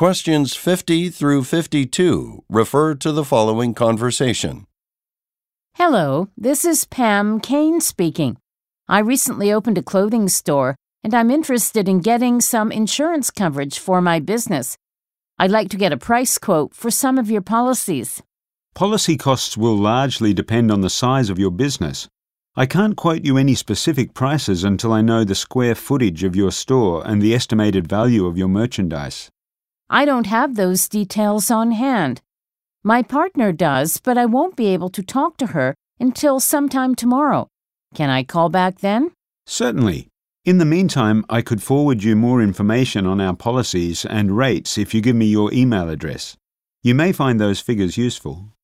Questions 50 through 52 refer to the following conversation. Hello, this is Pam Kane speaking. I recently opened a clothing store, and I'm interested in getting some insurance coverage for my business. I'd like to get a price quote for some of your policies. Policy costs will largely depend on the size of your business. I can't quote you any specific prices until I know the square footage of your store and the estimated value of your merchandise. I don't have those details on hand. My partner does, but I won't be able to talk to her until sometime tomorrow. Can I call back then? Certainly. In the meantime, I could forward you more information on our policies and rates if you give me your email address. You may find those figures useful.